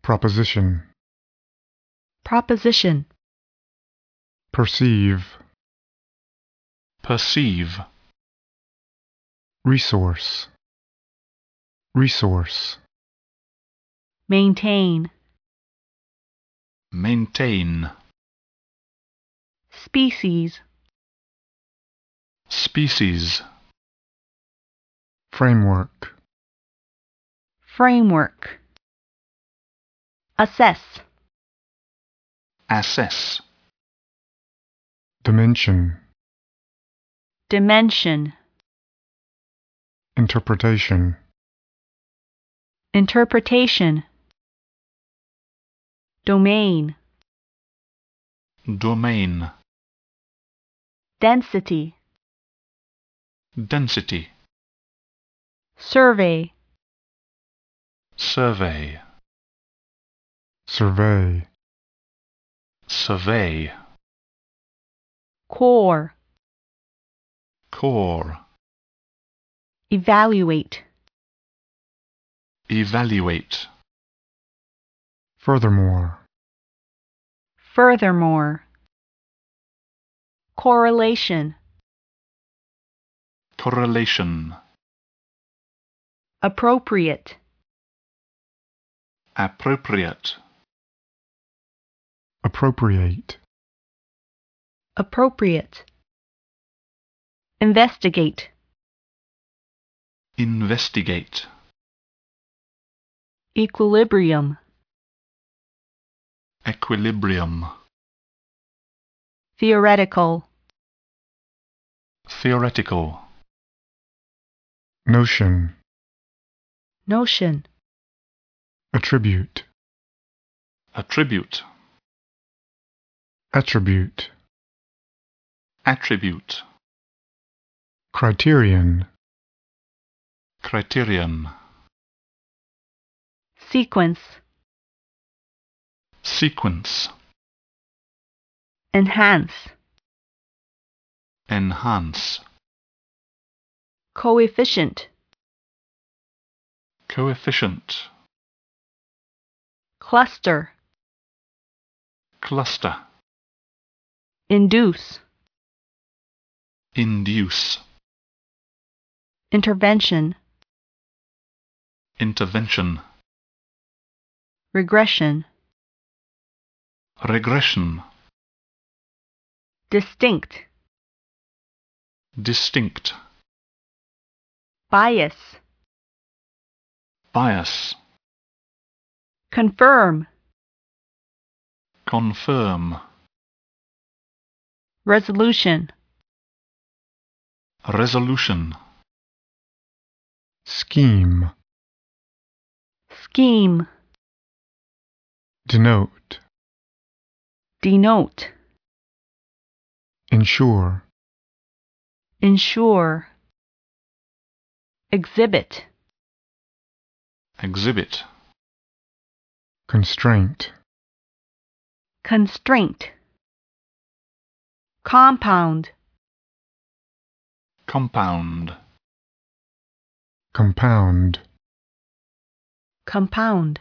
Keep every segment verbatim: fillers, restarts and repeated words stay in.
Proposition. Proposition. Perceive. Perceive. Resource. Resource. Maintain. Maintain. Species. Species. Framework. Framework. Assess. Assess. Dimension. Dimension. Interpretation. Interpretation. Domain. Domain. Density. Density. Survey. Survey. Survey. Survey. Core. Core. Evaluate. Evaluate. Furthermore. Furthermore. Correlation. Correlation. Appropriate. Appropriate. Appropriate. Appropriate. Investigate. Investigate. Equilibrium. Equilibrium. Theoretical. Theoretical. Notion. Notion. Attribute. Attribute. Attribute. Attribute. Criterion. Criterion. Sequence. Sequence. Enhance. Enhance. Coefficient. Coefficient. Cluster. Cluster. Induce. Induce. Intervention. Intervention. Regression. Regression. Distinct. Distinct. Bias. Bias. Confirm. Confirm. Resolution. Resolution. Scheme. Scheme. Denote. Denote. Ensure. Ensure. Exhibit. Exhibit. Constraint. Constraint. Compound. Compound. Compound. Compound.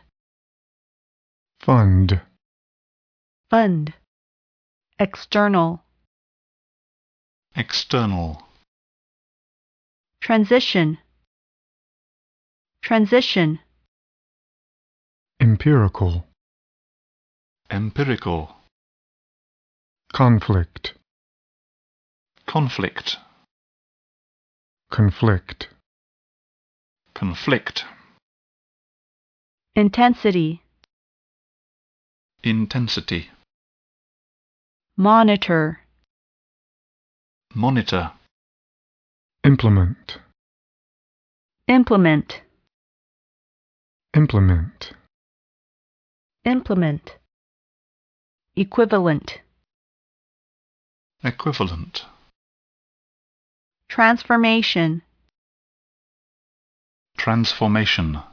Fund. Fund. External. External. Transition. Transition. Empirical. Empirical. Conflict. Conflict. Conflict. Conflict. Intensity. Intensity. Monitor. Monitor. Implement. Implement. Implement. Implement. Equivalent. Equivalent. Transformation. Transformation.